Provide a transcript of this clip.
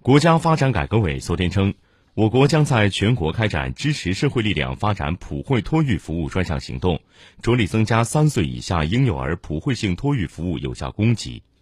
国家发展改革委昨天称，我国将在全国开展支持社会力量发展普惠托育服务专项行动，着力增加3岁以下婴幼儿普惠性托育服务有效供给。